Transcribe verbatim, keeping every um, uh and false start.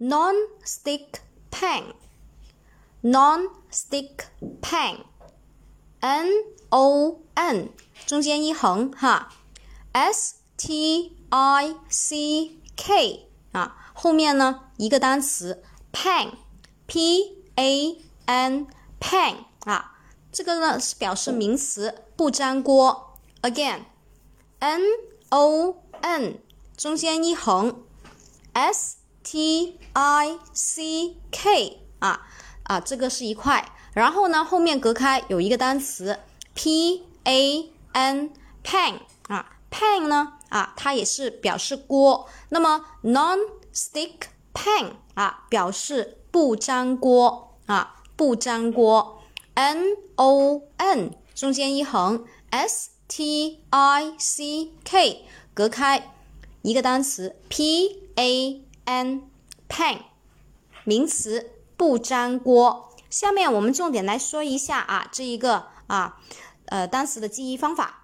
non-stick pan，non-stick pan，N O N 中间一横哈 ，S T I C K 啊，后面呢一个单词 pan，P A N pan 啊，这个呢是表示名词，不粘锅。Again，N O N 中间一横 ，S T I C K 啊啊，这个是一块。然后呢，后面隔开有一个单词 P A N pan 啊 ，pan 呢啊，它也是表示锅。那么 non-stick pan 啊，表示不粘锅啊，不粘锅。N O N 中间一横 ，S T I C K 隔开一个单词 P A N pan 名词不粘锅。下面我们重点来说一下啊，这一个啊呃单词的记忆方法。